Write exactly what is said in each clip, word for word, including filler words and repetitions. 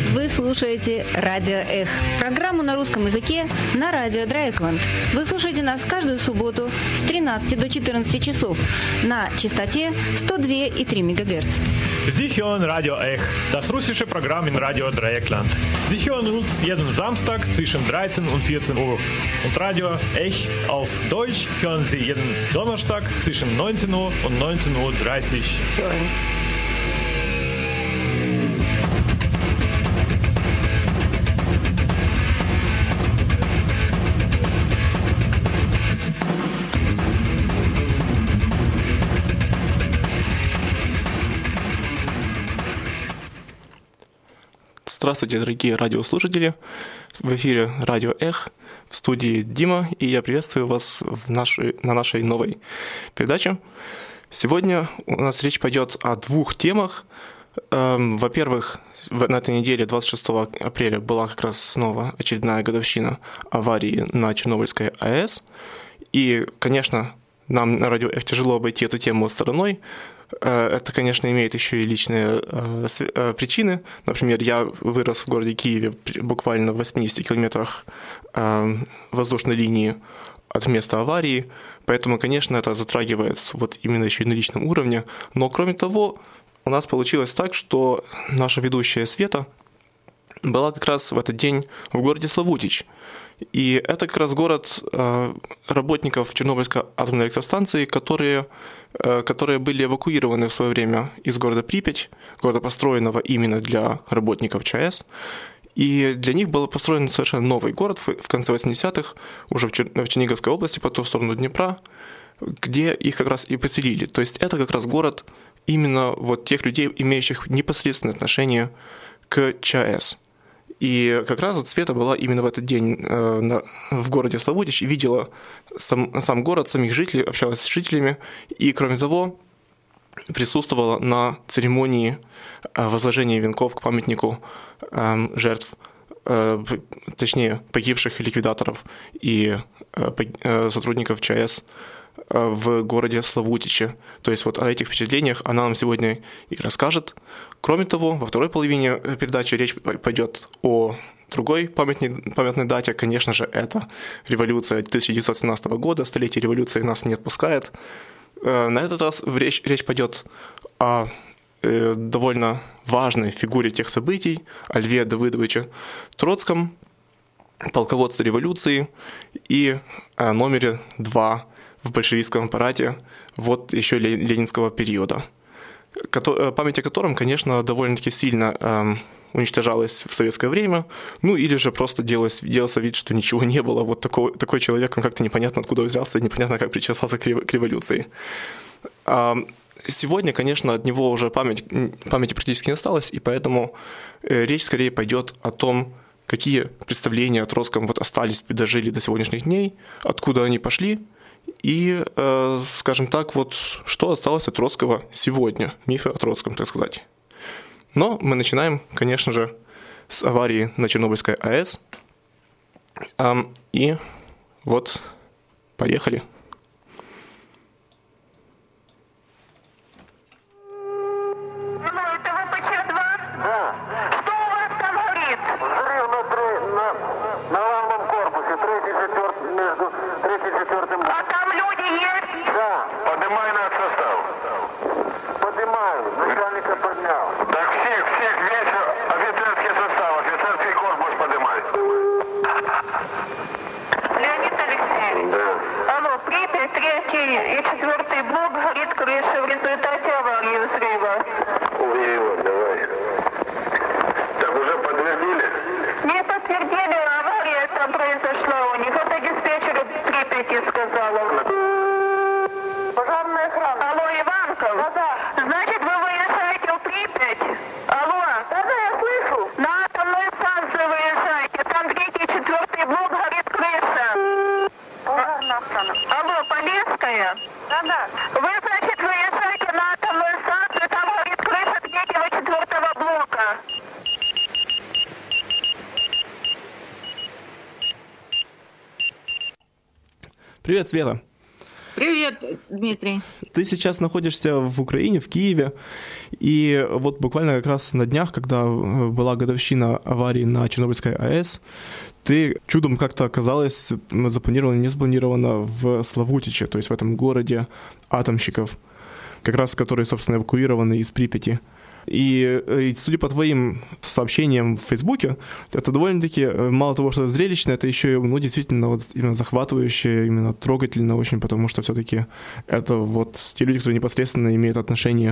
Вы слушаете «Радио Эх», программу на русском языке на радио Дрейкланд. Вы слушаете нас каждую субботу с тринадцати до четырнадцати часов на частоте сто два и три мегагерц. Sie hören Radio Ech, das russische Programm in Radio Dreieckland. Sie hören uns jeden Samstag zwischen dreizehn und vierzehn Uhr. Und Radio Ech auf Deutsch hören Sie jeden Donnerstag zwischen neunzehn Uhr und neunzehn Uhr dreißig. Hören. Здравствуйте, дорогие радиослушатели! В эфире Радио Эх, в студии Дима, и я приветствую вас в нашей, на нашей новой передаче. Сегодня у нас речь пойдет о двух темах. Во-первых, на этой неделе, двадцать шестого апреля, была как раз снова очередная годовщина аварии на Чернобыльской АЭС. И, конечно, нам на Радио Эх тяжело обойти эту тему стороной. Это, конечно, имеет еще и личные э, причины. Например, я вырос в городе Киеве буквально в восьмидесяти километрах э, воздушной линии от места аварии, поэтому, конечно, это затрагивает вот именно еще и на личном уровне. Но, кроме того, у нас получилось так, что наша ведущая Света была как раз в этот день в городе Славутич. И это как раз город э, работников Чернобыльской атомной электростанции, которые, э, которые были эвакуированы в свое время из города Припять, города, построенного именно для работников ЧАЭС. И для них был построен совершенно новый город в, в конце восьмидесятых, уже в, Чер, в Черниговской области, по ту сторону Днепра, где их как раз и поселили. То есть это как раз город именно вот тех людей, имеющих непосредственное отношение к ЧАЭС. И как раз вот Света была именно в этот день э, на, в городе Славутич и видела сам, сам город, самих жителей, общалась с жителями. И, кроме того, присутствовала на церемонии э, возложения венков к памятнику э, жертв, э, точнее, погибших ликвидаторов и э, э, сотрудников ЧАЭС э, в городе Славутиче. То есть вот о этих впечатлениях она нам сегодня и расскажет. Кроме того, во второй половине передачи речь пойдет о другой памятной, памятной дате. Конечно же, это революция тысяча девятьсот семнадцатого года, столетие революции нас не отпускает. На этот раз речь, речь пойдет о довольно важной фигуре тех событий, о Льве Давыдовиче Троцком, полководце революции, и о номере два в большевистском аппарате вот еще ленинского периода, память о котором, конечно, довольно-таки сильно э, уничтожалась в советское время, ну или же просто делалось, делался вид, что ничего не было. Вот такой, такой человек, он как-то непонятно откуда взялся, непонятно как причесался к революции. А сегодня, конечно, от него уже память, памяти практически не осталось, и поэтому речь скорее пойдет о том, какие представления о Троцком вот остались, дожили до сегодняшних дней, откуда они пошли, и, э, скажем так, вот что осталось от Троцкого сегодня, мифы о Троцком, так сказать. Но мы начинаем, конечно же, с аварии на Чернобыльской АЭС. Эм, и вот, поехали. И четвертый блок горит крыша в результате аварии взрыва. Ой, давай. Так уже подтвердили? Не подтвердили, авария там произошла у них. Это диспетчер Припяти сказала. Пожарная охрана. Алло, Иванков? Да, да. Значит, вы выезжаете в Припять? Алло? Да, да, я слышу. На атомную станцию выезжаете. Там третий и четвертый блок горит крыша. Пожарная охрана. Алло, Полесская? Да, да. Вы, значит, выезжаете на атомную станцию, там горит крыша третьего и четвертого блока. Привет, Света. Привет, Дмитрий. Ты сейчас находишься в Украине, в Киеве, и вот буквально как раз на днях, когда была годовщина аварии на Чернобыльской АЭС, ты чудом как-то оказалась запланирована, не запланирована в Славутиче, то есть в этом городе атомщиков, как раз которые, собственно, эвакуированы из Припяти. И, и судя по твоим сообщениям в Фейсбуке, это довольно-таки, мало того, что зрелищно, это еще и, ну, действительно, вот именно захватывающе, именно трогательно очень, потому что все-таки это вот те люди, которые непосредственно имеют отношение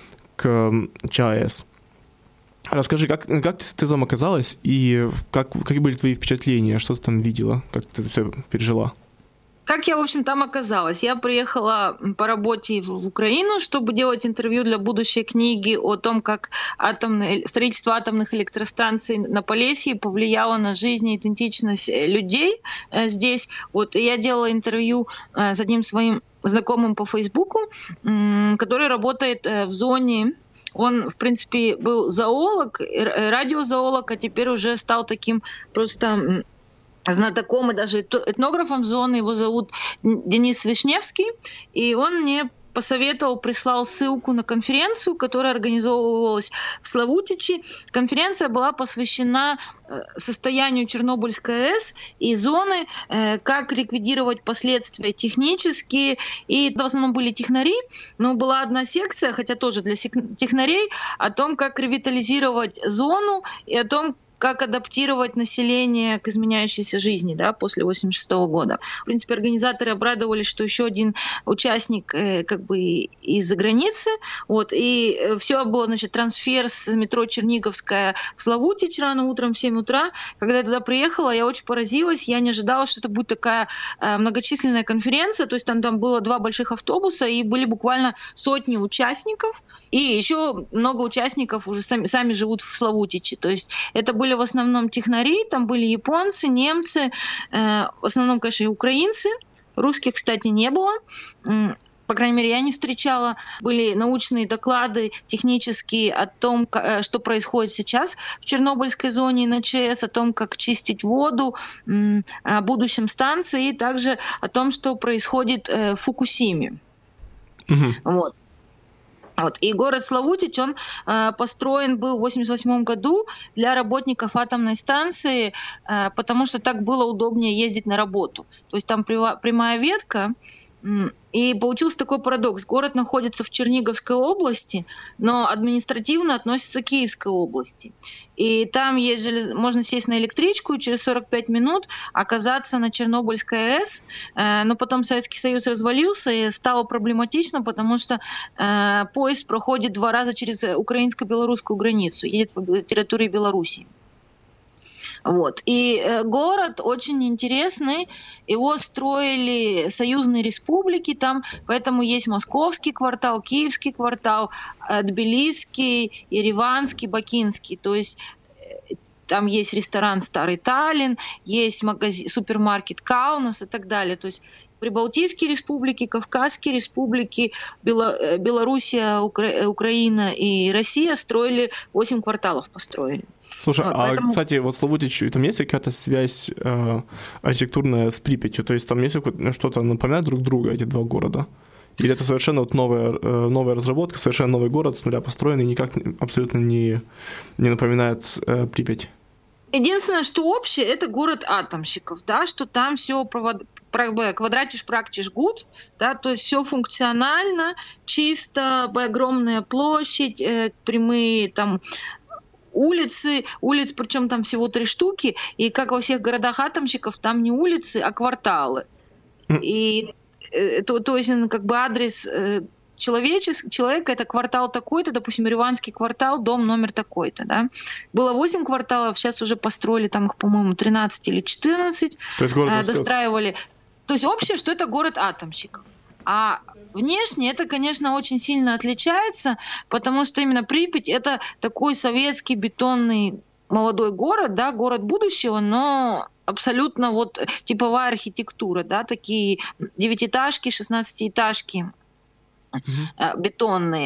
к ЧАЭС. Расскажи, как, как ты там оказалась и как, какие были твои впечатления, что ты там видела, как ты это все пережила? Как я, в общем, там оказалась? Я приехала по работе в Украину, чтобы делать интервью для будущей книги о том, как атомное, строительство атомных электростанций на Полесье повлияло на жизнь и идентичность людей здесь. Вот, и я делала интервью с одним своим знакомым по Фейсбуку, который работает в зоне. Он, в принципе, был зоолог, радиозоолог, а теперь уже стал таким просто знатоком и даже этнографом зоны. Его зовут Денис Вишневский, и он мне посоветовал, прислал ссылку на конференцию, которая организовывалась в Славутиче. Конференция была посвящена состоянию Чернобыльской АЭС и зоны, как ликвидировать последствия технические. И это в основном были технари, но была одна секция, хотя тоже для технарей, о том, как ревитализировать зону и о том, как адаптировать население к изменяющейся жизни, да, после восемьдесят шестого года. В принципе, организаторы обрадовались, что еще один участник э, как бы из-за границы. Вот, и все было, значит, трансфер с метро Черниговская в Славутич рано утром в семь утра. Когда я туда приехала, я очень поразилась. Я не ожидала, что это будет такая э, многочисленная конференция. То есть там, там было два больших автобуса, и были буквально сотни участников. И еще много участников уже сами, сами живут в Славутиче. То есть это были в основном технари, там были японцы, немцы, э, в основном, конечно, и украинцы. Русских, кстати, не было. По крайней мере, я не встречала. Были научные доклады технические о том, что происходит сейчас в Чернобыльской зоне на ЧАЭС, о том, как чистить воду, о будущем станции, и также о том, что происходит в Фукусиме. Mm-hmm. Вот. Вот. И город Славутич, он э, построен был в восемьдесят восьмом году для работников атомной станции, э, потому что так было удобнее ездить на работу. То есть там прива- прямая ветка, и получился такой парадокс. Город находится в Черниговской области, но административно относится к Киевской области. И там есть желез... можно сесть на электричку и через сорок пять минут оказаться на Чернобыльской АЭС. Но потом Советский Союз развалился, и стало проблематично, потому что э, поезд проходит два раза через украинско-белорусскую границу, едет по территории Белоруссии. Вот. И э, город очень интересный, его строили союзные республики там, поэтому есть московский квартал, киевский квартал, э, тбилисский, ереванский, бакинский, то есть э, там есть ресторан «Старый Таллин», есть магазин, супермаркет «Каунас» и так далее, то есть Прибалтийские республики, Кавказские республики, Бело- Белоруссия, Укра- Украина и Россия строили, восемь кварталов построили. Слушай, вот, а, поэтому... кстати, вот Славутич, там есть какая-то связь э, архитектурная с Припятью? То есть там есть что-то напоминает друг друга, эти два города? Или это совершенно вот новая, э, новая разработка, совершенно новый город, с нуля построенный, никак абсолютно не, не напоминает э, Припять? Единственное, что общее, это город атомщиков, да, что там все провод... квадратиш практиш гуд, да, то есть все функционально, чисто, огромная площадь, э, прямые там улицы, улиц, причем там всего три штуки, и как во всех городах атомщиков, там не улицы, а кварталы. И э, то, то есть как бы адрес э, человечес, человека — это квартал такой-то, допустим, Ереванский квартал, дом номер такой-то, да. Было восемь кварталов, сейчас уже построили там их, по-моему, тринадцать или четырнадцать, то есть город э, достраивали. То есть общее, что это город атомщиков. А внешне это, конечно, очень сильно отличается, потому что именно Припять — это такой советский бетонный молодой город, да, город будущего, но абсолютно вот типовая архитектура, да, такие девятиэтажки, шестнадцатиэтажки, mm-hmm. бетонные.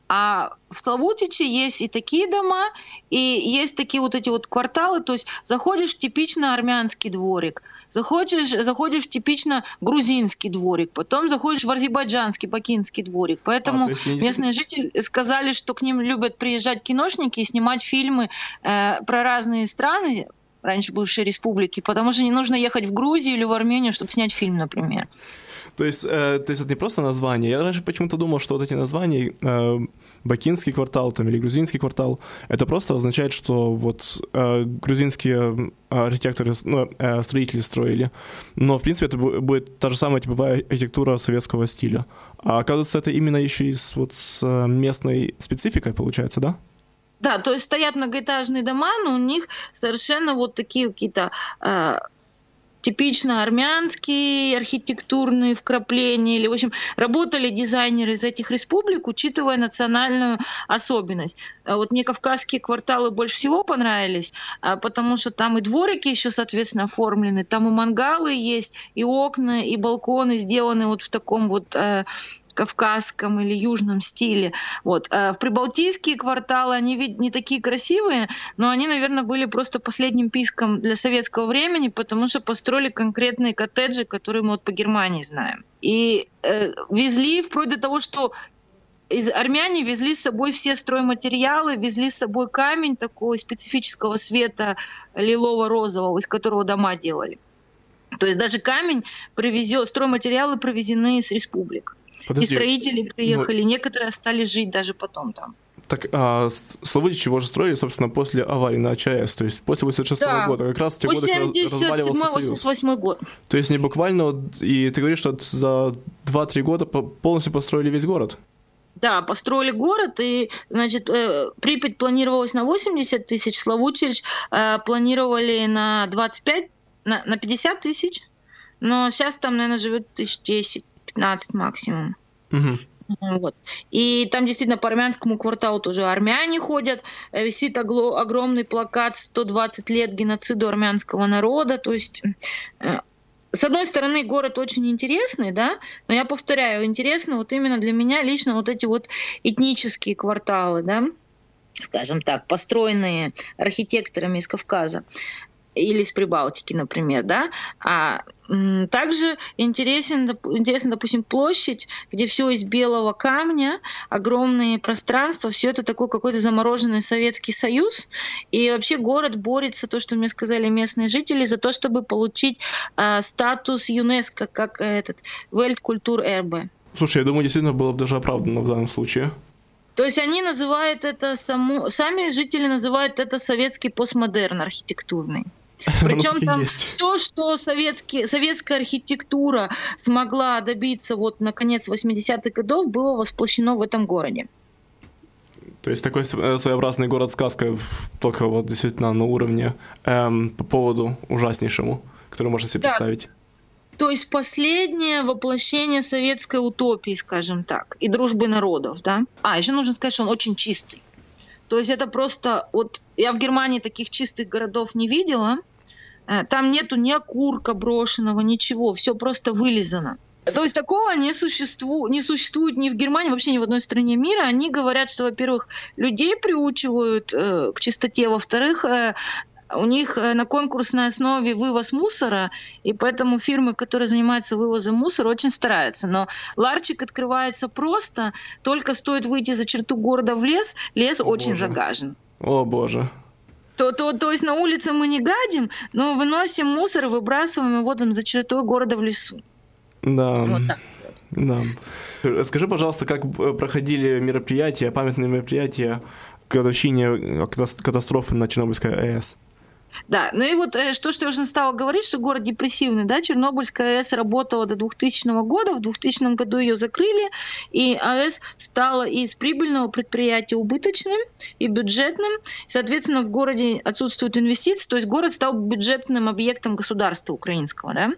А в Славутиче есть и такие дома, и есть такие вот эти вот кварталы, то есть заходишь в типично армянский дворик, заходишь, заходишь в типично грузинский дворик, потом заходишь в азербайджанский, бакинский дворик. Поэтому а, есть... местные жители сказали, что к ним любят приезжать киношники и снимать фильмы э, про разные страны, раньше бывшие республики, потому что не нужно ехать в Грузию или в Армению, чтобы снять фильм, например. То есть, э, то есть это не просто название. Я раньше почему-то думал, что вот эти названия, э, бакинский квартал там, или грузинский квартал, это просто означает, что вот э, грузинские архитекторы, ну, э, строители строили. Но, в принципе, это будет та же самая типовая архитектура советского стиля. А оказывается, это именно еще и с, вот, с местной спецификой получается, да? Да, то есть стоят многоэтажные дома, но у них совершенно вот такие какие-то... Э, типично армянские архитектурные вкрапления, или, в общем, работали дизайнеры из этих республик, учитывая национальную особенность. Вот мне кавказские кварталы больше всего понравились, потому что там и дворики еще, соответственно, оформлены, там и мангалы есть, и окна, и балконы сделаны вот в таком вот кавказском или южном стиле. Вот. В прибалтийские кварталы, они ведь не такие красивые, но они, наверное, были просто последним писком для советского времени, потому что построили конкретные коттеджи, которые мы вот по Германии знаем. И э, везли вплоть до того, что из армяне везли с собой все стройматериалы, везли с собой камень такого специфического цвета лилово-розового, из которого дома делали. То есть даже камень привезет, стройматериалы привезены из республик. Подожди. И строители приехали, но... некоторые остались жить даже потом там. Так, а Славутич его же строили, собственно, после аварии на ЧАЭС, то есть после восемьдесят шестого да. года, как раз в те годы разваливался Союз. восемьдесят восьмой год. То есть не буквально, и ты говоришь, что за два-три года полностью построили весь город? Да, построили город, и, значит, Припять планировалось на восемьдесят тысяч, Славутич планировали на двадцать пять, на, на пятьдесят тысяч, но сейчас там, наверное, живет тысяч десять-пятнадцать максимум. Угу. Вот. И там действительно по армянскому кварталу тоже армяне ходят, висит огло- огромный плакат «сто двадцать лет геноциду армянского народа», то есть... С одной стороны, город очень интересный, да, но я повторяю, интересно вот именно для меня лично вот эти вот этнические кварталы, да, скажем так, построенные архитекторами из Кавказа или из Прибалтики, например, да. А м, также интересен, интересна, допустим, площадь, где все из белого камня, огромные пространства, все это такой какой-то замороженный Советский Союз. И вообще город борется, то, что мне сказали местные жители, за то, чтобы получить а, статус ЮНЕСКО как этот Weltkультурerbe. Слушай, я думаю, действительно было бы даже оправдано в данном случае. То есть они называют это, саму, сами жители называют это советский постмодерн архитектурный. Причем там все, что советский, советская архитектура смогла добиться вот на конец восьмидесятых годов, было воплощено в этом городе. То есть такой своеобразный город-сказка, только вот действительно на уровне эм, по поводу ужаснейшему, который можно себе да. представить. То есть последнее воплощение советской утопии, скажем так, и дружбы народов, да. А, еще нужно сказать, что он очень чистый. То есть это просто... Вот я в Германии таких чистых городов не видела. Там нету ни окурка брошенного, ничего. Все просто вылизано. То есть такого не существует, не существует ни в Германии, вообще ни в одной стране мира. Они говорят, что, во-первых, людей приучивают э, к чистоте. Во-вторых, э, у них на конкурсной основе вывоз мусора, и поэтому фирмы, которые занимаются вывозом мусора, очень стараются. Но ларчик открывается просто, только стоит выйти за черту города в лес, лес О, очень боже. загажен. О, боже. То, то, то есть на улице мы не гадим, но выносим мусор и выбрасываем его там за чертой города в лесу. Да. Вот так. Да. Скажи, пожалуйста, как проходили мероприятия, памятные мероприятия к годовщине катастрофы на Чернобыльской АЭС? Да, ну и вот что, что я уже стала говорить, что город депрессивный, да, Чернобыльская АЭС работала до двухтысячного года, в двухтысячном году ее закрыли, и АЭС стала из прибыльного предприятия убыточным и бюджетным, соответственно, в городе отсутствуют инвестиции, то есть город стал бюджетным объектом государства украинского, да,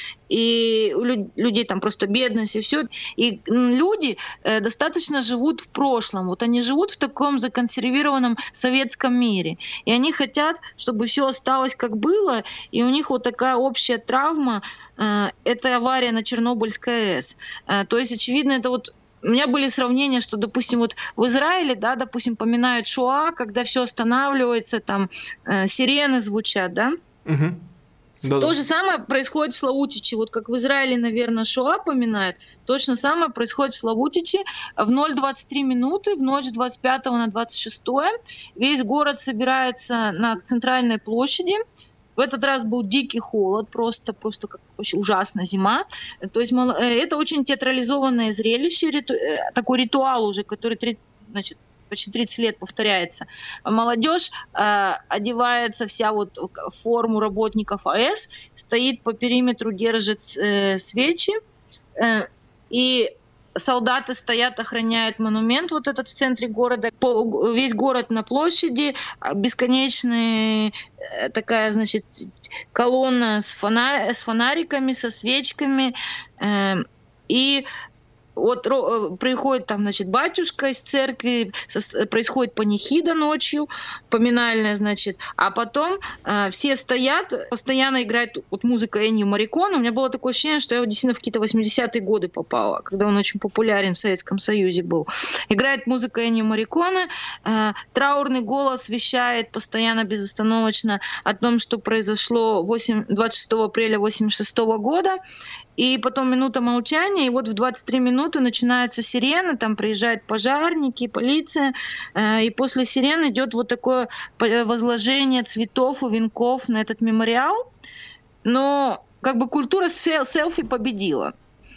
и у людей там просто бедность и все. И люди достаточно живут в прошлом. Вот они живут в таком законсервированном советском мире. И они хотят, чтобы все осталось как было. И у них вот такая общая травма — это авария на Чернобыльской АЭС. То есть, очевидно, это вот у меня были сравнения, что, допустим, вот в Израиле, да, допустим, поминают Шоа, когда все останавливается, там э, сирены звучат, да? Угу. Да-да. То же самое происходит в Славутиче. Вот как в Израиле, наверное, Шоа поминают, точно самое происходит в Славутиче. В ноль двадцать три минуты, в ночь с двадцать пятого на двадцать шестое, весь город собирается на центральной площади. В этот раз был дикий холод, просто, просто как вообще ужасная зима. То есть это очень театрализованное зрелище, риту, такой ритуал уже, который, значит, почти тридцать лет повторяется. Молодежь э, одевается вся вот в форму работников АЭС, стоит по периметру, держит э, свечи, э, и солдаты стоят, охраняют монумент вот этот в центре города. По, весь город на площади, бесконечная э, такая, значит, колонна с, фонарь, с фонариками, со свечками, э, и вот приходит там, значит, батюшка из церкви, происходит панихида ночью, поминальная, значит, а потом э, все стоят, постоянно играет вот музыка Эннио Морриконе. У меня было такое ощущение, что я действительно в какие-то восьмидесятые годы попала, когда он очень популярен в Советском Союзе был. Играет музыка Эннио Морриконе, э, траурный голос вещает постоянно, безостановочно о том, что произошло двадцать шестого апреля восемьдесят шестого года, и потом минута молчания, и вот в двадцать три минуты начинаются сирены, там приезжают пожарники, полиция, и после сирен идет вот такое возложение цветов и венков на этот мемориал. Но как бы культура селфи победила.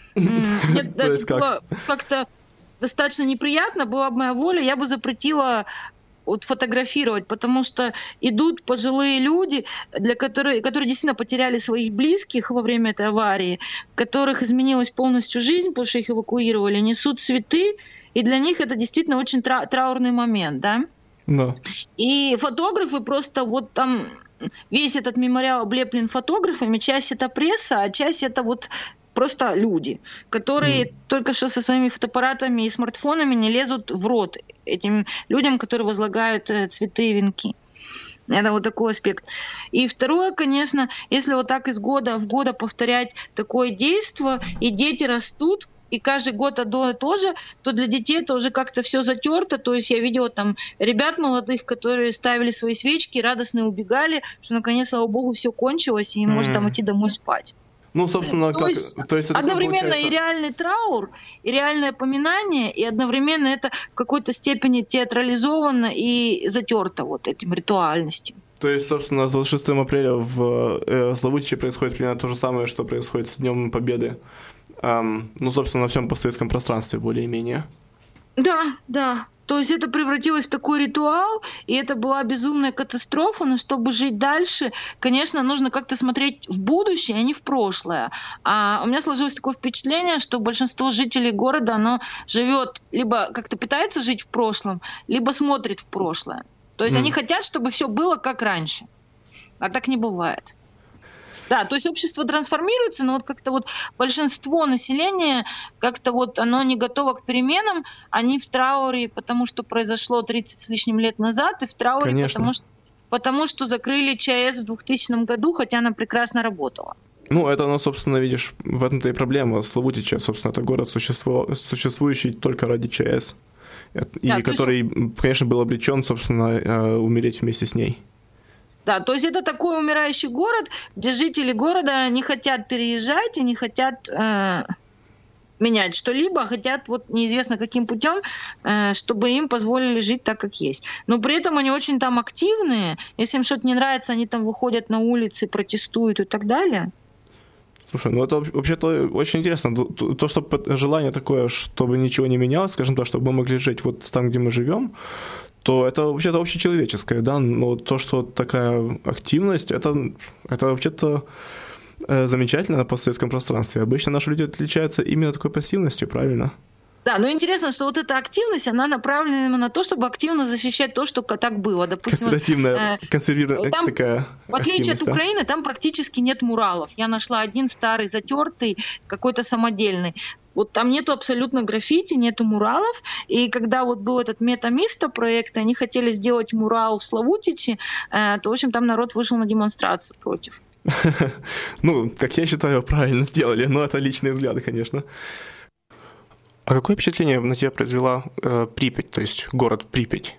Мне даже было как-то достаточно неприятно, была бы моя воля, я бы запретила вот фотографировать, потому что идут пожилые люди, для которых, которые действительно потеряли своих близких во время этой аварии, которых изменилась полностью жизнь, потому что их эвакуировали, несут цветы, и для них это действительно очень тра- траурный момент, да? Да. И фотографы просто вот там, весь этот мемориал облеплен фотографами, часть это пресса, а часть это вот просто люди, которые mm. только что со своими фотоаппаратами и смартфонами не лезут в рот этим людям, которые возлагают цветы и венки. Это вот такой аспект. И второе, конечно, если вот так из года в год повторять такое действие, и дети растут, и каждый год одно и то же, то для детей это уже как-то все затерто. То есть я видела там ребят молодых, которые ставили свои свечки, радостно убегали, что наконец, слава богу, все кончилось, и им mm. можно там идти домой спать. Ну, собственно, то как... Есть то есть это одновременно получается... и реальный траур, и реальное поминание, и одновременно это в какой-то степени театрализовано и затерто вот этим ритуальностью. То есть, собственно, с двадцать шестого апреля в э, Славутиче происходит примерно то же самое, что происходит с Днем Победы. Эм, ну, собственно, на всем постсоветском пространстве более-менее. Да, да. То есть это превратилось в такой ритуал, и это была безумная катастрофа, но чтобы жить дальше, конечно, нужно как-то смотреть в будущее, а не в прошлое. А у меня сложилось такое впечатление, что большинство жителей города, оно живет, либо как-то пытается жить в прошлом, либо смотрит в прошлое. То есть mm. они хотят, чтобы все было как раньше. А так не бывает. Да, то есть общество трансформируется, но вот как-то вот большинство населения как-то вот оно не готово к переменам, они в трауре, потому что произошло тридцать с лишним лет назад, и в трауре, Конечно. потому что, потому что закрыли ЧАЭС в двухтысячном году, хотя она прекрасно работала. Ну, это, ну, собственно, видишь, в этом-то и проблема. Славутича, собственно, это город, существо, существующий только ради ЧАЭС, и да, который, есть... конечно, был обречен, собственно, умереть вместе с ней. Да, то есть это такой умирающий город, где жители города не хотят переезжать и не хотят э, менять что-либо, а хотят вот неизвестно каким путем, э, чтобы им позволили жить так, как есть. Но при этом они очень там активные. Если им что-то не нравится, они там выходят на улицы, протестуют и так далее. Слушай, ну это вообще-то очень интересно. То, то, что желание такое, чтобы ничего не менялось, скажем так, чтобы мы могли жить вот там, где мы живем, то это вообще-то общечеловеческое, да, но то, что такая активность, это, это вообще-то э, замечательно на постсоветском пространстве. Обычно наши люди отличаются именно такой пассивностью, правильно? Да, но интересно, что вот эта активность, она направлена именно на то, чтобы активно защищать то, что так было. Допустим, консервативная, э, консервированная такая в отличие от Украины, да? Там практически нет муралов. Я нашла один старый, затертый, какой-то самодельный. Вот там нету абсолютно граффити, нету муралов. И когда вот был этот Метамисто проект, они хотели сделать мурал в Славутиче, то, в общем, там народ вышел на демонстрацию против. Ну, как я считаю, правильно сделали, но это личные взгляды, конечно. А какое впечатление на тебя произвела э, Припять, то есть город Припять?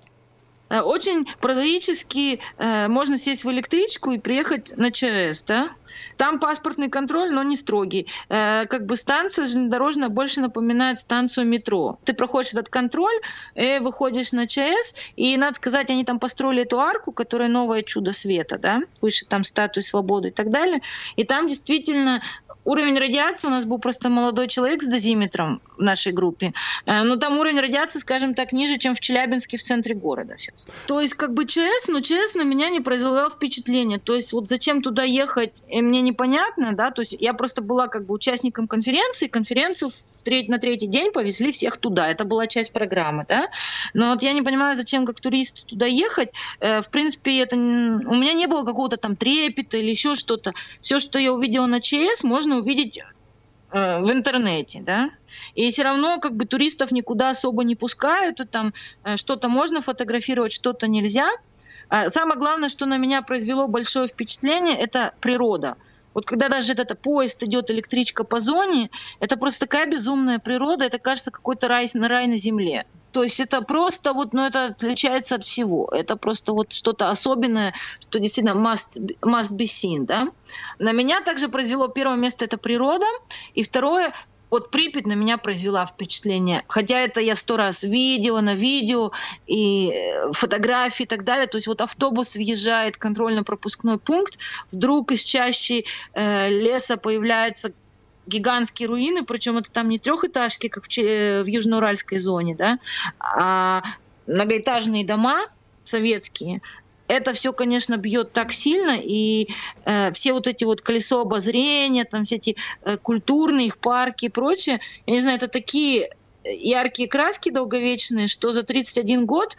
Очень прозаически э, можно сесть в электричку и приехать на ЧАЭС, да? Там паспортный контроль, но не строгий. Э, как бы станция железнодорожная больше напоминает станцию метро. Ты проходишь этот контроль, и выходишь на ЧАЭС, и, надо сказать, они там построили эту арку, которая новое чудо света, да? Выше там статуи свободы и так далее. И там действительно уровень радиации, у нас был просто молодой человек с дозиметром в нашей группе, но там уровень радиации, скажем так, ниже, чем в Челябинске в центре города сейчас. То есть как бы ЧАЭС, но ЧАЭС на меня не произвело впечатления. То есть вот зачем туда ехать, мне непонятно, да, то есть я просто была как бы участником конференции, конференцию в треть, на третий день повезли всех туда, это была часть программы, да, но вот я не понимаю, зачем как турист туда ехать, в принципе, это, у меня не было какого-то там трепета или еще что-то, все, что я увидела на ЧАЭС, можно увидеть э, в интернете, да, и все равно как бы туристов никуда особо не пускают, и там э, что-то можно фотографировать, что-то нельзя. А самое главное, что на меня произвело большое впечатление, это природа. Вот когда даже этот поезд идет, электричка по зоне, это просто такая безумная природа, это кажется какой-то рай, рай на земле. То есть это просто вот, ну это отличается от всего. Это просто вот что-то особенное, что действительно must, must be seen, да. На меня также произвело первое место это природа, и второе, вот Припять на меня произвела впечатление. Хотя это я сто раз видела на видео, и фотографии и так далее. То есть вот автобус въезжает, контрольно-пропускной пункт, вдруг из чащи э, леса появляются гигантские руины, причем это там не трехэтажки, как в, в южноуральской зоне, да, а многоэтажные дома советские. Это все, конечно, бьет так сильно, и э, все вот эти вот колесо обозрения, там все эти э, культурные их парки и прочее, я не знаю, это такие яркие краски долговечные, что за тридцать один год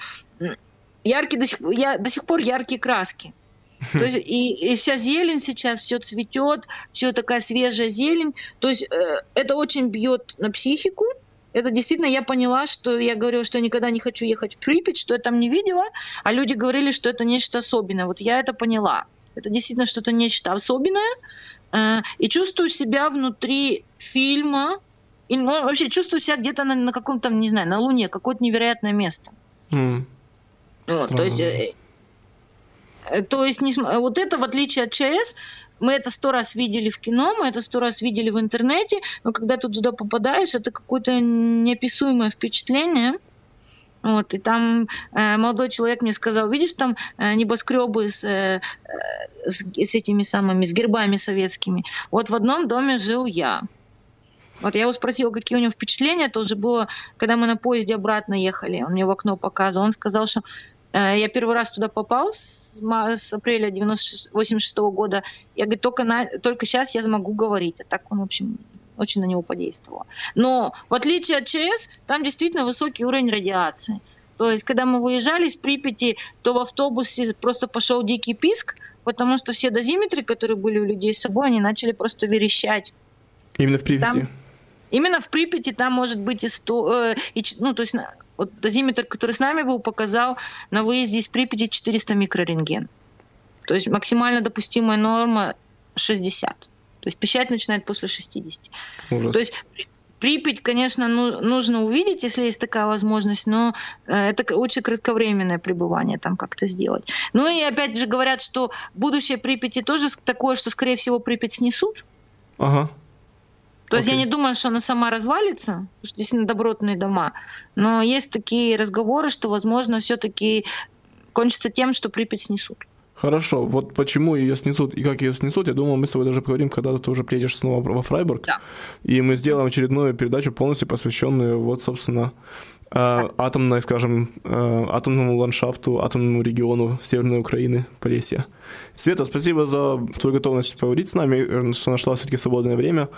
яркие до сих, я, до сих пор яркие краски. То есть и, и вся зелень сейчас, все цветет, все такая свежая зелень. То есть э, это очень бьет на психику. Это действительно я поняла, что я говорила, что я никогда не хочу ехать в Припять, что я там не видела, а люди говорили, что это нечто особенное. Вот я это поняла. Это действительно что-то нечто особенное. Э, и чувствую себя внутри фильма. И, ну, вообще чувствую себя где-то на, на каком-то, не знаю, на Луне, какое-то невероятное место. Mm. Вот, то есть... Э, То есть вот это, в отличие от ЧАЭС, мы это сто раз видели в кино, мы это сто раз видели в интернете, но когда ты туда попадаешь, это какое-то неописуемое впечатление. Вот, и там э, молодой человек мне сказал, видишь, там э, небоскребы с, э, с, с этими самыми, с гербами советскими. Вот в одном доме жил я. Вот я его спросила, какие у него впечатления. Это уже было, когда мы на поезде обратно ехали. Он мне в окно показывал. Он сказал, что я первый раз туда попал с, с апреля восемьдесят шестого года. Я говорю, только, на, только сейчас я смогу говорить. А так он, в общем, очень на него подействовало. Но в отличие от ЧАЭС, там действительно высокий уровень радиации. То есть, когда мы выезжали из Припяти, то в автобусе просто пошел дикий писк, потому что все дозиметры, которые были у людей с собой, они начали просто верещать. Именно в Припяти? Там, именно в Припяти там может быть и сто... Э, и, ну, то есть... Вот дозиметр, который с нами был, показал на выезде из Припяти четыреста микрорентген. То есть максимально допустимая норма шестьдесят. То есть пищать начинает после шестидесяти. Ужас. То есть Припять, конечно, ну, нужно увидеть, если есть такая возможность, но это очень кратковременное пребывание там как-то сделать. Ну и опять же говорят, что будущее Припяти тоже такое, что, скорее всего, Припять снесут. Ага. То есть okay. я не думаю, что она сама развалится, потому что действительно добротные дома, но есть такие разговоры, что, возможно, все-таки кончится тем, что Припять снесут. Хорошо, вот почему ее снесут и как ее снесут, я думал, мы с тобой даже поговорим, когда ты уже приедешь снова во Фрайбург, да. И мы сделаем очередную передачу, полностью посвященную, вот, собственно, да. атомной, скажем, атомному ландшафту, атомному региону Северной Украины, Полесья. Света, спасибо за твою готовность поговорить с нами, что нашла все-таки свободное время.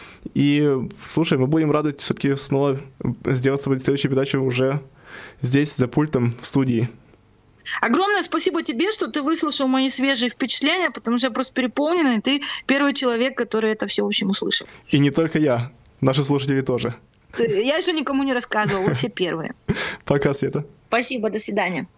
И, слушай, мы будем рады все-таки снова сделать с тобой следующую передачу уже здесь, за пультом, в студии. Огромное спасибо тебе, что ты выслушал мои свежие впечатления, потому что я просто переполнена, и ты первый человек, который это все, в общем, услышал. И не только я, наши слушатели тоже. Я еще никому не рассказывала, вы все первые. Пока, Света. Спасибо, до свидания.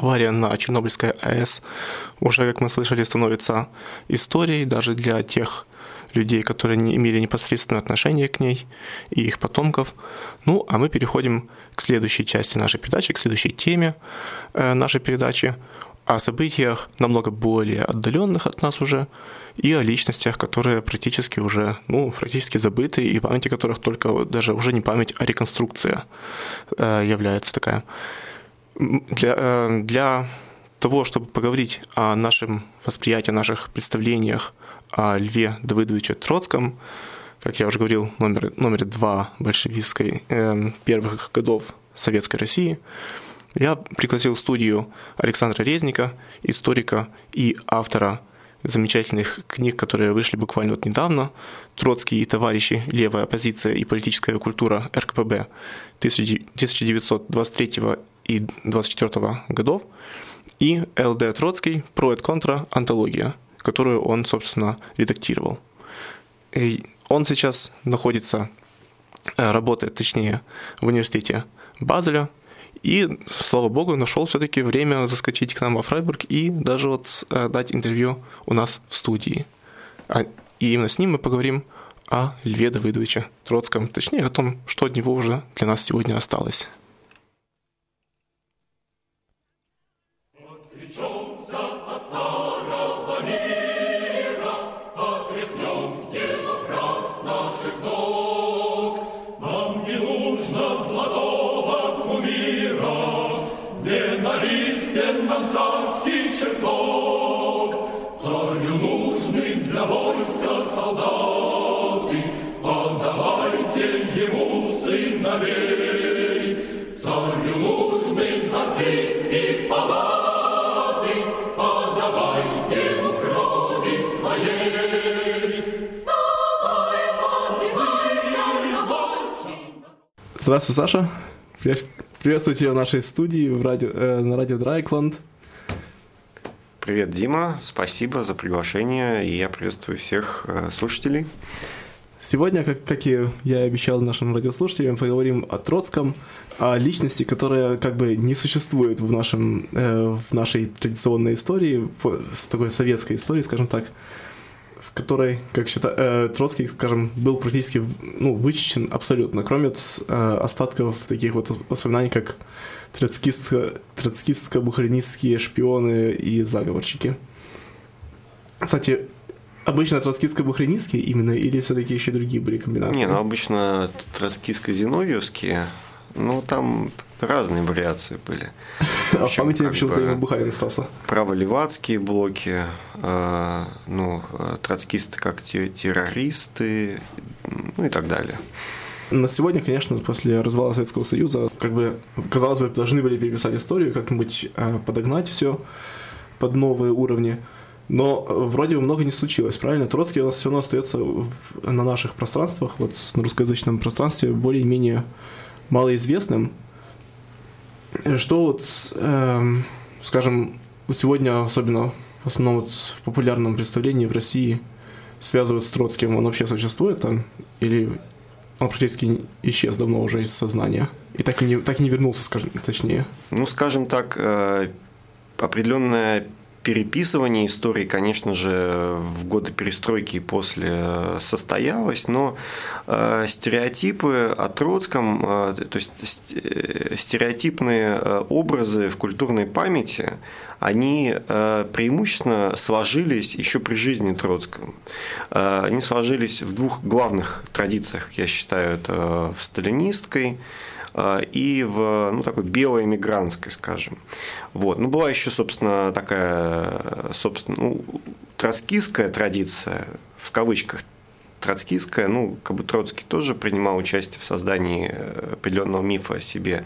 авария на Чернобыльской АЭС уже, как мы слышали, становится историей даже для тех людей, которые не имели непосредственное отношение к ней и их потомков. Ну, а мы переходим к следующей части нашей передачи, к следующей теме нашей передачи, о событиях намного более отдаленных от нас уже, и о личностях, которые практически уже, ну, практически забыты, и память о которых только даже уже не память, а реконструкция является такая. Для, для того, чтобы поговорить о нашем восприятии, о наших представлениях о Льве Давыдовиче Троцком, как я уже говорил, номер, номер два большевистской э, первых годов Советской России, я пригласил в студию Александра Резника, историка и автора замечательных книг, которые вышли буквально вот недавно, «Троцкий и товарищи. Левая оппозиция и политическая культура эр ка пэ бэ» тысяча девятьсот двадцать третьего и двадцать четвёртого годов, и эл дэ Троцкий «Про et контра. Антология», которую он, собственно, редактировал. И он сейчас находится, работает, точнее, в университете Базеля, и, слава богу, нашел все-таки время заскочить к нам во Фрайбург и даже вот дать интервью у нас в студии. И именно с ним мы поговорим о Льве Давыдовиче Троцком, точнее, о том, что от него уже для нас сегодня осталось. Царский чертог, царю нужный для войска солдаты, отдавайте ему сыновей. Царю нужны дворцы и палаты, отдавайте ему крови своей. Вставай, поднимайся, рабочий. Здравствуй, Саша. Приветствую тебя в нашей студии в радио, э, на радио Драйкланд. Привет, Дима. Спасибо за приглашение, и я приветствую всех э, слушателей. Сегодня, как, как и я обещал нашим радиослушателям, мы поговорим о Троцком, о личности, которая как бы не существует в, нашем, э, в нашей традиционной истории, с такой советской истории, скажем так, в которой, как считаю, э, Троцкий, скажем, был практически ну, вычищен абсолютно, кроме э, остатков таких вот воспоминаний, как троцкистско-бухаринистские шпионы и заговорщики. Кстати, обычно троцкистско-бухаринистские именно, или все-таки еще другие были комбинации? Не, ну обычно троцкистско-зиновьевские, ну там разные вариации были. А в памяти почему-то именно Бухарин остался. Право-левацкие блоки, э, ну, троцкисты как террористы, ну и так далее. На сегодня, конечно, после развала Советского Союза, как бы, казалось бы, должны были переписать историю, как-нибудь э, подогнать все под новые уровни. Но вроде бы много не случилось, правильно? Троцкий у нас все равно остается в, на наших пространствах, вот на русскоязычном пространстве, более-менее малоизвестным. Что вот, э, скажем, вот сегодня, особенно в основном вот в популярном представлении в России, связывают с Троцким, он вообще существует там? Или он практически исчез давно уже из сознания? И так и не, так и не вернулся, скажем, точнее? Ну, скажем так, э, определенная переписывание истории, конечно же, в годы перестройки и после состоялось, но э, стереотипы о Троцком, э, то есть стереотипные образы в культурной памяти, они э, преимущественно сложились еще при жизни Троцкого. Э, они сложились в двух главных традициях, я считаю, это в сталинистской и в ну, такой белой эмигрантской, скажем. Вот. Ну, была еще, собственно, такая, собственно, ну, троцкистская традиция, в кавычках троцкистская, ну, как бы Троцкий тоже принимал участие в создании определенного мифа о себе.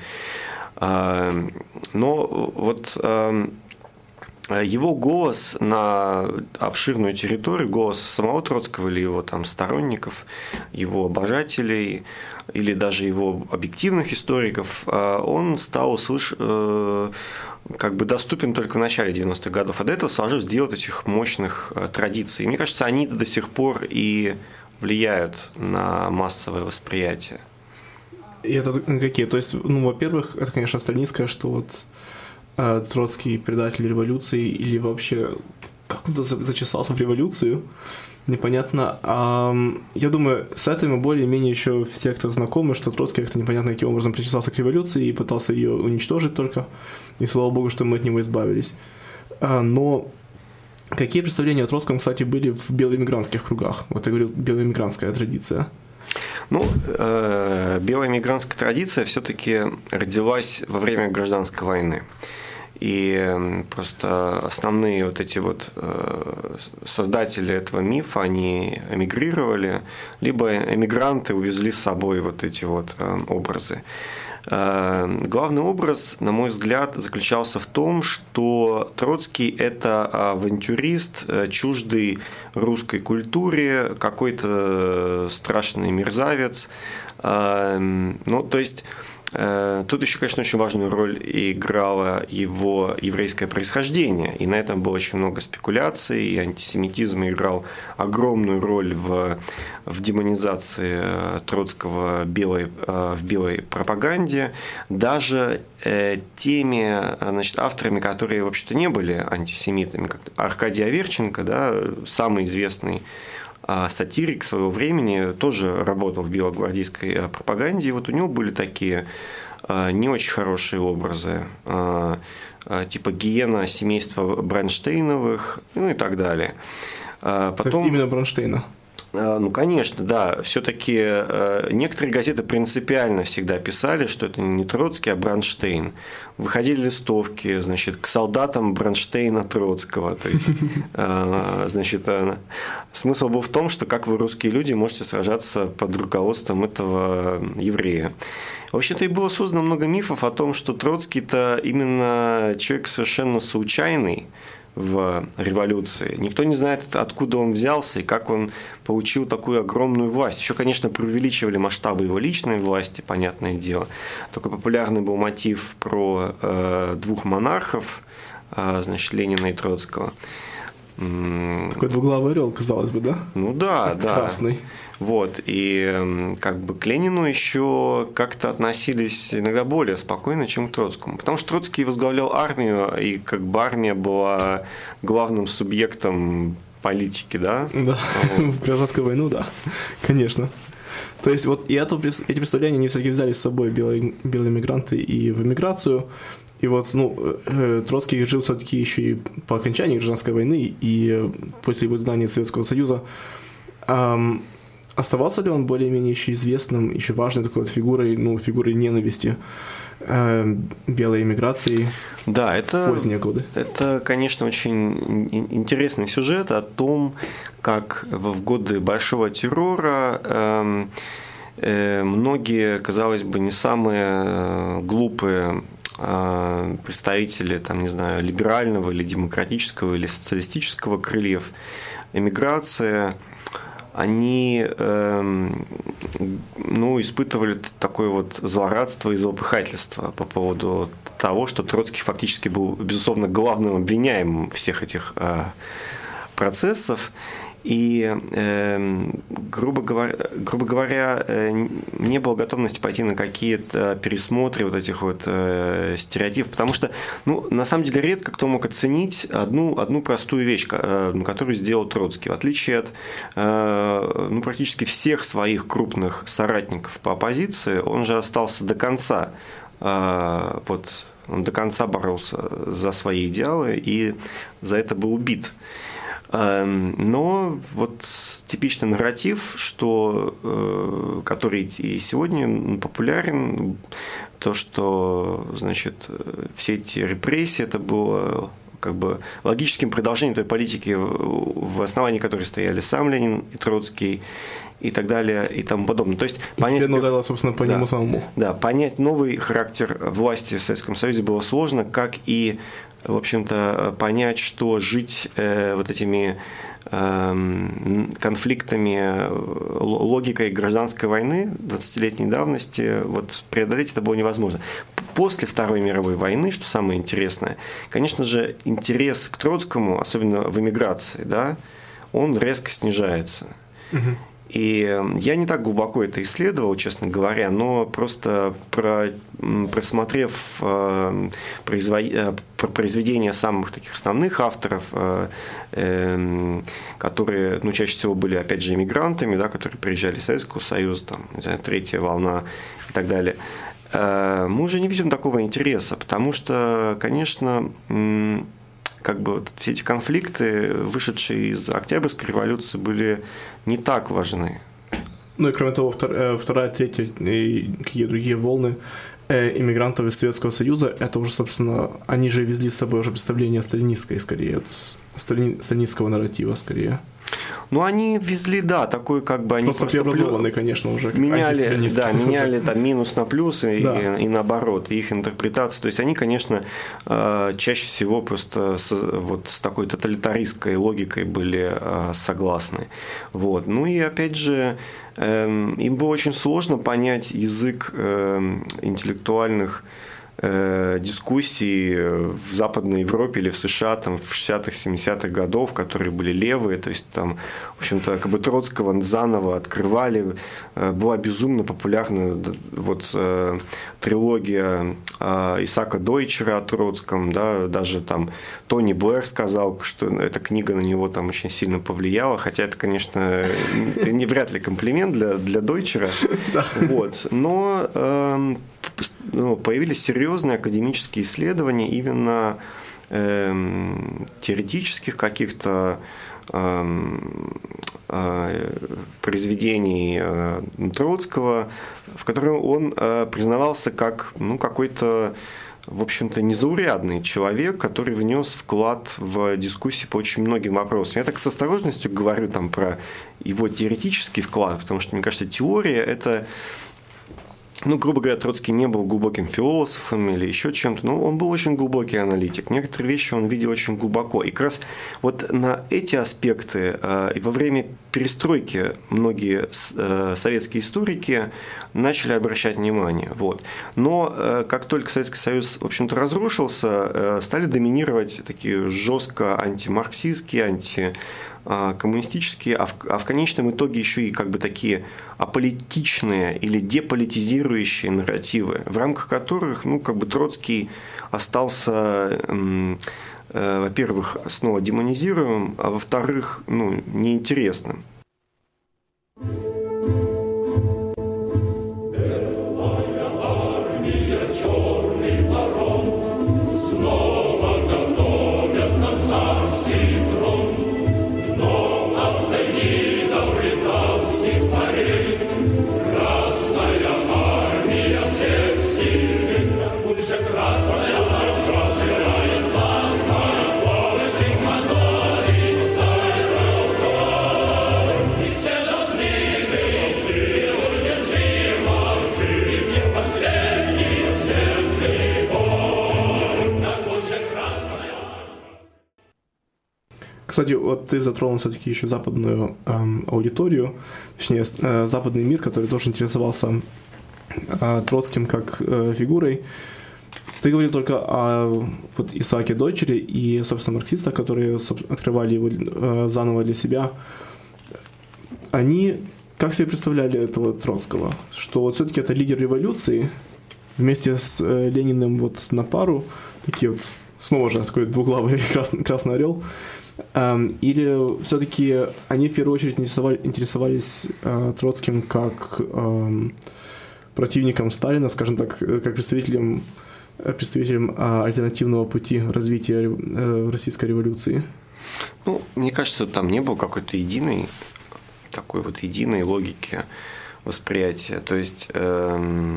Но вот его голос на обширную территорию, голос самого Троцкого или его там сторонников, его обожателей, или даже его объективных историков, он стал услыш... как бы доступен только в начале девяностых годов. А до этого сложилось дело этих мощных традиций. И мне кажется, они до сих пор и влияют на массовое восприятие. И это какие? То есть, ну, во-первых, это, конечно, сталинское, что вот Троцкий предатель революции или вообще как он зачесался в революцию, непонятно. А, я думаю, с этим мы более-менее еще все, кто знакомы, что Троцкий как-то непонятно каким образом причесался к революции и пытался ее уничтожить только. И слава богу, что мы от него избавились. А, но какие представления о Троцком, кстати, были в белоэмигрантских кругах? Вот я говорил, белоэмигрантская традиция. Ну, э, белая мигрантская традиция все-таки родилась во время гражданской войны. И просто основные вот эти вот э, создатели этого мифа, они эмигрировали, либо эмигранты увезли с собой вот эти вот э, образы. Э, главный образ, на мой взгляд, заключался в том, что Троцкий – это авантюрист, чуждый русской культуре, какой-то страшный мерзавец. Э, ну, то есть… Тут еще, конечно, очень важную роль играло его еврейское происхождение, и на этом было очень много спекуляций, и антисемитизм играл огромную роль в, в демонизации Троцкого белой, в белой пропаганде, даже теми, значит, авторами, которые вообще-то не были антисемитами, как Аркадий Аверченко, да, самый известный сатирик своего времени, тоже работал в белогвардейской пропаганде, и вот у него были такие не очень хорошие образы, типа гиена семейства Бронштейновых, ну и так далее. Потом... Именно Бронштейна? Ну, конечно, да. Все-таки некоторые газеты принципиально всегда писали, что это не Троцкий, а Бронштейн. Выходили листовки, значит, к солдатам Бронштейна Троцкого. То есть, значит, смысл был в том, что как вы, русские люди, можете сражаться под руководством этого еврея. В общем-то, и было создано много мифов о том, что Троцкий-то именно человек совершенно случайный в революции. Никто не знает, откуда он взялся и как он получил такую огромную власть. Еще, конечно, преувеличивали масштабы его личной власти, понятное дело. Только популярный был мотив про э, двух монархов, э, значит, Ленина и Троцкого. Такой двуглавый орел, казалось бы, да? Ну да, да. Красный. Вот, и как бы к Ленину еще как-то относились иногда более спокойно, чем к Троцкому. Потому что Троцкий возглавлял армию, и как бы армия была главным субъектом политики, да? Да, вот. В гражданскую войну, да, конечно. То есть вот и это, эти представления, они все-таки взяли с собой белые, белые мигранты и в эмиграцию. И вот, ну, Троцкий жил все-таки еще и по окончании гражданской войны, и после его изгнания из Советского Союза. Эм, Оставался ли он более-менее еще известным, еще важной такой вот фигурой, ну, фигурой ненависти э, белой эмиграции да, это, в поздние годы? Это, конечно, очень интересный сюжет о том, как в годы Большого террора э, э, многие, казалось бы, не самые глупые э, представители, там, не знаю, либерального или демократического или социалистического крыльев эмиграции, они э, ну, испытывали такое вот злорадство и злопыхательство по поводу того, что Троцкий фактически был, безусловно, главным обвиняемым всех этих э, процессов. И, э, грубо говоря, грубо говоря э, не было готовности пойти на какие-то пересмотры вот этих вот э, стереотипов, потому что, ну, на самом деле, редко кто мог оценить одну, одну простую вещь, э, которую сделал Троцкий. В отличие от э, ну, практически всех своих крупных соратников по оппозиции, он же остался до конца, э, вот, он до конца боролся за свои идеалы и за это был убит. Но вот типичный нарратив, что, который и сегодня популярен, то, что, значит, все эти репрессии, это было как бы логическим продолжением той политики, в основании которой стояли сам Ленин и Троцкий, и так далее, и тому подобное. То есть понять, ну, да, собственно, по да, нему самому. Да, понять новый характер власти в Советском Союзе было сложно, как и, в общем-то, понять, что жить э, вот этими э, конфликтами, логикой гражданской войны двадцатилетней давности, вот преодолеть это было невозможно. После Второй мировой войны, что самое интересное, конечно же, интерес к Троцкому, особенно в эмиграции, да, он резко снижается. Угу. И я не так глубоко это исследовал, честно говоря, но просто про, просмотрев произведения самых таких основных авторов, которые, ну, чаще всего были, опять же, иммигрантами, да, которые приезжали из Советского Союза, там, не знаю, третья волна и так далее, мы уже не видим такого интереса, потому что, конечно, как бы вот все эти конфликты, вышедшие из Октябрьской революции, были не так важны. Ну и кроме того, вторая, третья и какие другие волны иммигрантов из Советского Союза, это уже, собственно, они же везли с собой уже представление сталинистское, скорее, сталинистского нарратива, скорее. Ну, они везли, да, такой как бы... Они просто преобразованные, конечно, уже. Меняли, да, меняли там минус на плюс и, да. и, и наоборот, их интерпретация. То есть они, конечно, чаще всего просто с, вот с такой тоталитаристской логикой были согласны. Вот. Ну и опять же, им было очень сложно понять язык интеллектуальных дискуссии в Западной Европе или в США там, в шестидесятых, семидесятых годов, которые были левые, то есть там, в общем-то, как бы Троцкого заново открывали, была безумно популярна вот трилогия Исаака Дойчера о Троцком, да, даже там Тони Блэр сказал, что эта книга на него там очень сильно повлияла, хотя это, конечно, не вряд ли комплимент для, для Дойчера, вот, но ну, появились серьезные академические исследования именно э, теоретических каких-то э, э, произведений э, Троцкого, в которых он э, признавался как ну, какой-то, в общем-то, незаурядный человек, который внес вклад в дискуссии по очень многим вопросам. Я так с осторожностью говорю там, про его теоретический вклад, потому что, мне кажется, теория – это... Ну, грубо говоря, Троцкий не был глубоким философом или еще чем-то, но он был очень глубокий аналитик. Некоторые вещи он видел очень глубоко. И как раз вот на эти аспекты э, во время перестройки многие э, советские историки начали обращать внимание. Вот. Но э, как только Советский Союз, в общем-то, разрушился, э, стали доминировать такие жестко антимарксистские, анти коммунистические, а в, а в конечном итоге еще и как бы такие аполитичные или деполитизирующие нарративы, в рамках которых, ну, как бы Троцкий остался, э, э, во-первых, снова демонизируемым, а во-вторых, ну, неинтересным. Кстати, вот ты затронул все-таки еще западную эм, аудиторию, точнее, э, западный мир, который тоже интересовался э, Троцким как э, фигурой. Ты говорил только о вот, Исааке Дойчере и, собственно, марксистах, которые открывали его э, заново для себя. Они как себе представляли этого Троцкого? Что вот все-таки это лидер революции, вместе с э, Лениным вот на пару, такие вот, снова же такой двуглавый красный, красный орел. Или все-таки они в первую очередь интересовали, интересовались э, Троцким как э, противником Сталина, скажем так, как представителем, представителем э, альтернативного пути развития э, российской революции? Ну, мне кажется, там не было какой-то единой, такой вот единой логики восприятия. То есть, э,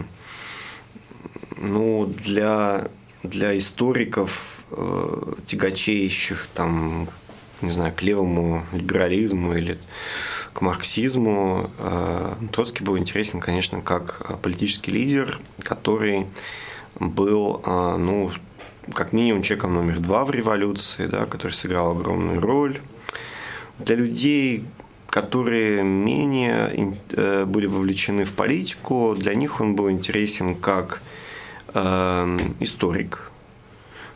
ну, для, для историков, э, тягочеющих там, не знаю, к левому либерализму или к марксизму, Троцкий был интересен, конечно, как политический лидер, который был, ну, как минимум человеком номер два в революции, да, который сыграл огромную роль. Для людей, которые менее были вовлечены в политику, для них он был интересен как историк,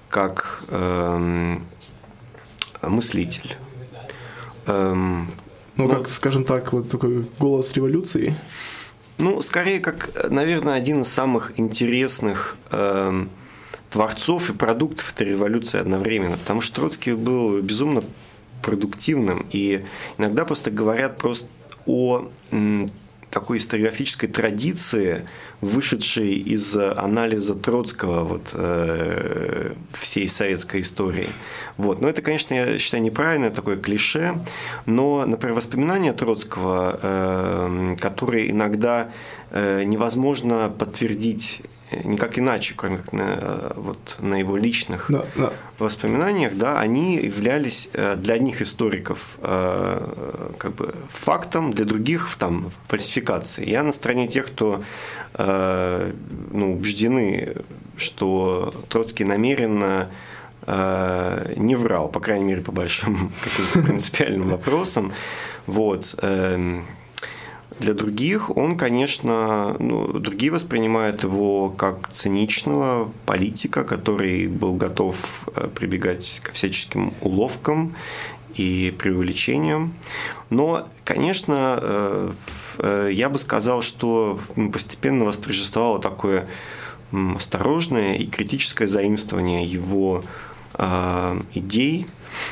как мыслитель. Ну, ну как, скажем так, вот такой голос революции. Ну, скорее, как, наверное, один из самых интересных э, творцов и продуктов этой революции одновременно, потому что Троцкий был безумно продуктивным, и иногда просто говорят просто о м, такой историографической традиции, вышедшей из анализа Троцкого вот, э, всей советской истории. Вот. Но это, конечно, я считаю неправильно, такое клише, но, например, воспоминания Троцкого, э, которые иногда э, невозможно подтвердить никак иначе, кроме как на, вот, на его личных да, да. воспоминаниях, да, они являлись для одних историков как бы фактом, для других там, фальсификацией. Я на стороне тех, кто ну, убеждены, что Троцкий намеренно не врал, по крайней мере, по большим каким-то принципиальным вопросам. Вот. Для других он, конечно, ну, другие воспринимают его как циничного политика, который был готов прибегать ко всяческим уловкам и преувеличениям. Но, конечно, я бы сказал, что постепенно восторжествовало такое осторожное и критическое заимствование его идей,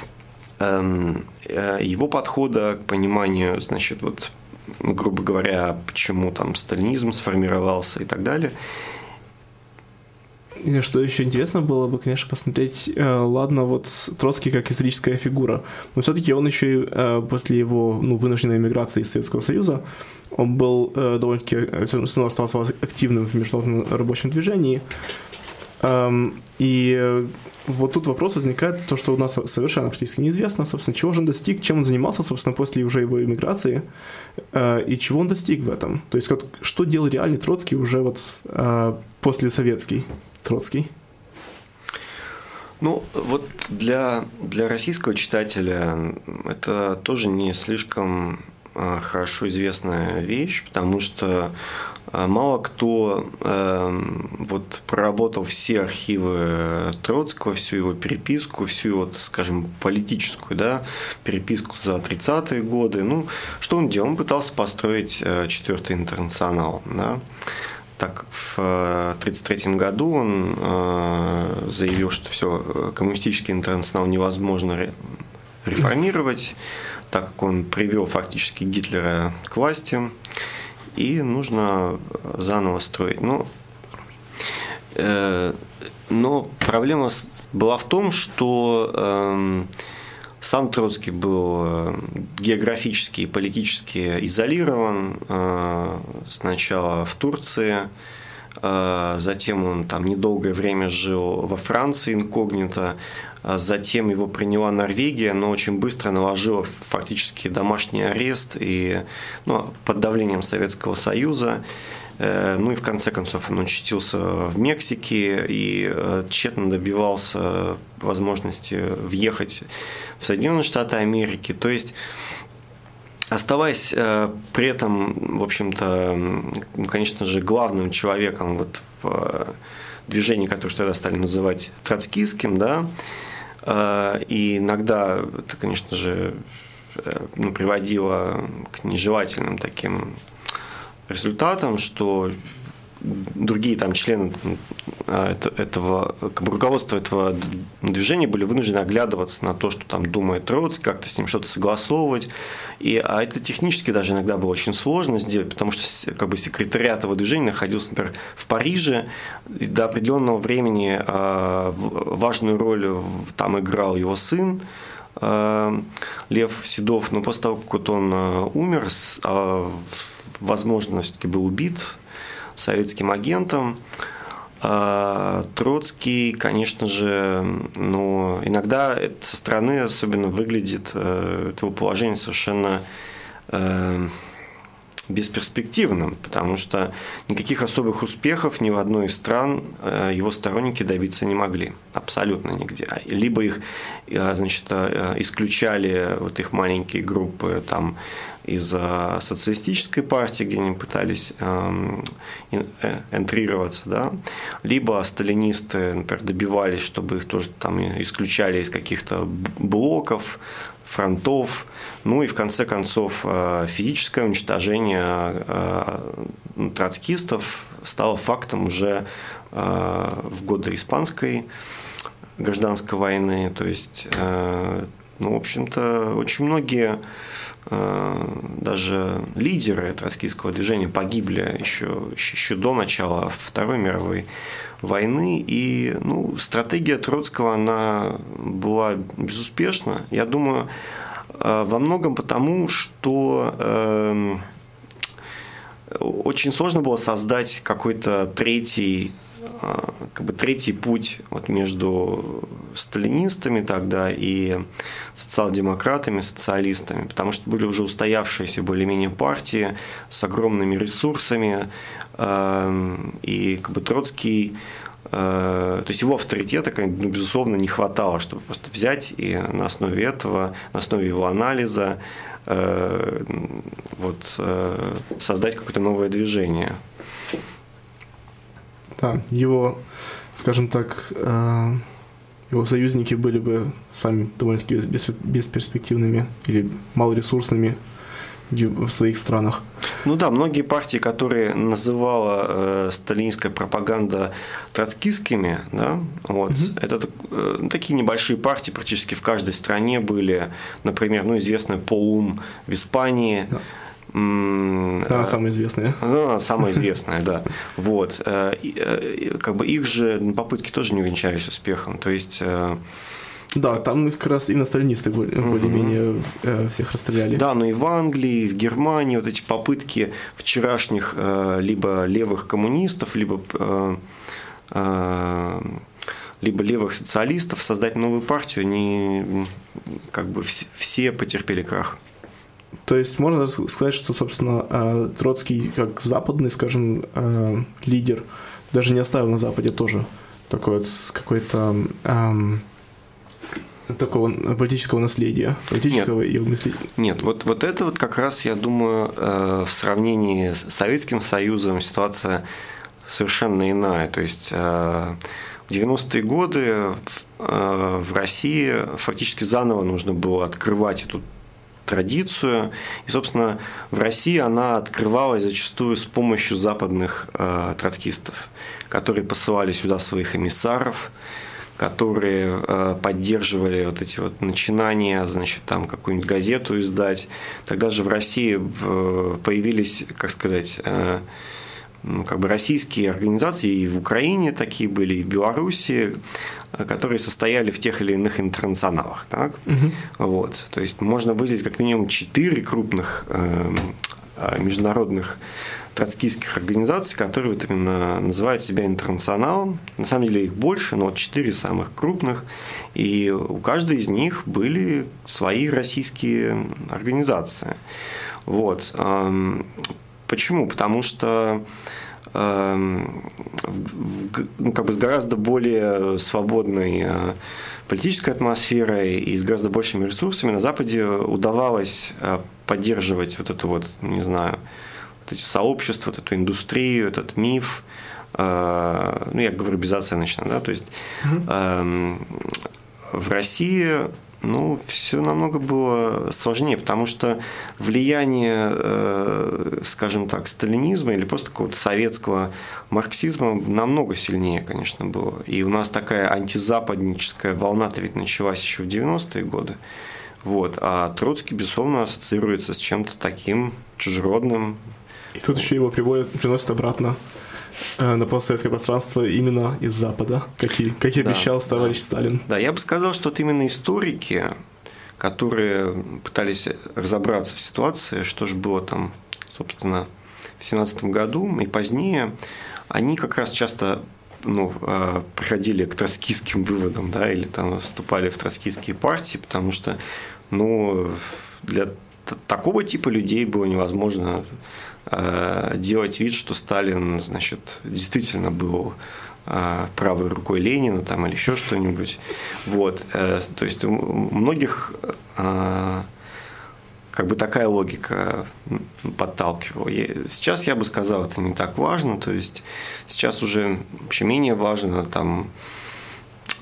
его подхода к пониманию, значит, вот, грубо говоря, почему там сталинизм сформировался и так далее. И что еще интересно было бы, конечно, посмотреть, ладно, вот Троцкий как историческая фигура, но все-таки он еще и после его ну, вынужденной эмиграции из Советского Союза, он был довольно-таки, ну, остался активным в международном рабочем движении. И вот тут вопрос возникает, то, что у нас совершенно практически неизвестно, собственно, чего же он достиг, чем он занимался, собственно, после уже его эмиграции, и чего он достиг в этом. То есть, что делал реальный Троцкий уже вот после советский Троцкий? Ну, вот для, для российского читателя это тоже не слишком хорошо известная вещь, потому что мало кто э, вот, проработал все архивы Троцкого, всю его переписку, всю его, скажем, политическую, да, переписку за тридцатые годы. Ну, что он делал? Он пытался построить четвертый интернационал. Да. Так, в тридцать третьем году он э, заявил, что все, коммунистический интернационал невозможно реформировать, так как он привел фактически Гитлера к власти. И нужно заново строить. Но, э, но проблема была в том, что э, сам Троцкий был географически и политически изолирован. Э, сначала в Турции, э, затем он там недолгое время жил во Франции инкогнито. Затем его приняла Норвегия, но очень быстро наложила фактически домашний арест и, ну, под давлением Советского Союза. Ну и в конце концов он очутился в Мексике и тщетно добивался возможности въехать в Соединенные Штаты Америки. То есть, оставаясь при этом, в общем-то, конечно же, главным человеком вот в движении, которое тогда стали называть троцкистским, да, и иногда это, конечно же, ну, приводило к нежелательным таким результатам, что другие там члены этого, как бы, руководства этого движения были вынуждены оглядываться на то, что там думает Троцкий, как-то с ним что-то согласовывать. И, а это технически даже иногда было очень сложно сделать, потому что как бы, секретариат этого движения находился, например, в Париже, и до определенного времени э, важную роль там играл его сын э, Лев Седов, но после того, как вот он э, умер, э, возможно, все-таки был убит советским агентом. Троцкий, конечно же, но иногда со стороны особенно выглядит его положение совершенно бесперспективным, потому что никаких особых успехов ни в одной из стран его сторонники добиться не могли. Абсолютно нигде. Либо их, значит, исключали вот их маленькие группы там из социалистической партии, где они пытались энтрироваться, да, либо сталинисты, например, добивались, чтобы их тоже там исключали из каких-то блоков, фронтов, ну и в конце концов физическое уничтожение троцкистов стало фактом уже в годы Испанской гражданской войны. То есть, ну, в общем-то, очень многие даже лидеры троцкистского движения погибли еще, еще до начала Второй мировой войны. И, ну, стратегия Троцкого, она была безуспешна. Я думаю, во многом потому, что э, очень сложно было создать какой-то третий, э, как бы третий путь вот между сталинистами тогда и социал-демократами, социалистами, потому что были уже устоявшиеся более-менее партии с огромными ресурсами, э, и как бы Троцкий, то есть его авторитета, ну, безусловно, не хватало, чтобы просто взять и на основе этого, на основе его анализа э, вот, э, создать какое-то новое движение. Да, его, скажем так, э, его союзники были бы сами довольно-таки бесперспективными или малоресурсными в своих странах. Ну да, многие партии, которые называла э, сталинская пропаганда троцкистскими, да, вот, mm-hmm. это э, такие небольшие партии практически в каждой стране были, например, ну, известная Поум в Испании. Да. Да, она самая известная. Ну, она самая известная, да. Вот. Как бы их же попытки тоже не увенчались успехом. То есть... Да, там как раз именно сталинисты более-менее угу. всех расстреляли. Да, но и в Англии, и в Германии вот эти попытки вчерашних либо левых коммунистов, либо, либо левых социалистов создать новую партию, они как бы все потерпели крах. То есть можно сказать, что, собственно, Троцкий как западный, скажем, лидер даже не оставил на Западе тоже такой вот какой-то... такого политического наследия, политического нет, и мысления. Нет, вот, вот это вот как раз, я думаю, в сравнении с Советским Союзом ситуация совершенно иная. То есть в девяностые годы в России фактически заново нужно было открывать эту традицию. И, собственно, в России она открывалась зачастую с помощью западных троцкистов, которые посылали сюда своих эмиссаров, которые э, поддерживали вот эти вот начинания, значит, там какую-нибудь газету издать. Тогда же в России э, появились, как сказать, э, ну, как бы российские организации, и в Украине такие были, и в Беларуси, которые состояли в тех или иных интернационалах. Так? Угу. Вот. То есть можно выделить как минимум четыре крупных э, международных троцкистских организаций, которые вот именно называют себя интернационалом. На самом деле их больше, но вот четыре самых крупных. И у каждой из них были свои российские организации. Вот. Почему? Потому что ну, как бы с гораздо более свободной политической атмосферой и с гораздо большими ресурсами на Западе удавалось поддерживать вот эту вот, не знаю, вот эти сообщества, вот эту индустрию, этот миф, э, ну, я говорю безоценочно, да, то есть э, в России, ну, все намного было сложнее, потому что влияние, э, скажем так, сталинизма или просто какого-то советского марксизма намного сильнее, конечно, было. И у нас такая антизападническая волна-то ведь началась еще в девяностые годы. Вот. А Троцкий, безусловно, ассоциируется с чем-то таким чужеродным. И тут еще его приводят, приносят обратно э, на постсоветское пространство именно из Запада, как и, как и да, обещал товарищ да. Сталин. Да, я бы сказал, что вот именно историки, которые пытались разобраться в ситуации, что же было там, собственно, в семнадцатом году и позднее, они как раз часто ну, приходили к троцкистским выводам, да, или там вступали в троцкистские партии, потому что ну, для такого типа людей было невозможно э, делать вид, что Сталин, значит, действительно был э, правой рукой Ленина там, или еще что-нибудь. Вот. Э, то есть у многих э, как бы такая логика подталкивала. Сейчас я бы сказал, это не так важно. То есть сейчас уже вообще менее важно там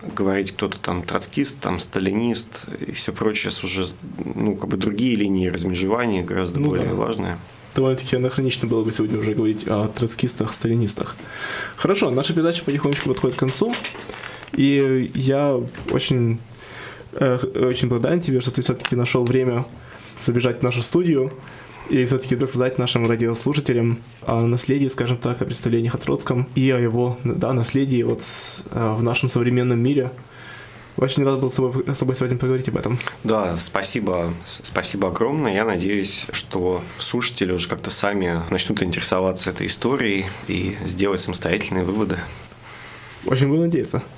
говорить кто-то там троцкист, там сталинист и все прочее, уже ну, как бы другие линии размежевания гораздо ну, более да. важные. Довольно-таки анахронично было бы сегодня уже говорить о троцкистах, сталинистах. Хорошо, наша передача потихонечку подходит к концу, и я очень, э, очень благодарен тебе, что ты все-таки нашел время забежать в нашу студию и все-таки рассказать нашим радиослушателям о наследии, скажем так, о представлениях о Троцком и о его да, наследии вот, в нашем современном мире. Очень рад был с тобой, с тобой сегодня поговорить об этом. Да, спасибо, спасибо огромное. Я надеюсь, что слушатели уже как-то сами начнут интересоваться этой историей и сделать самостоятельные выводы. Очень буду надеяться.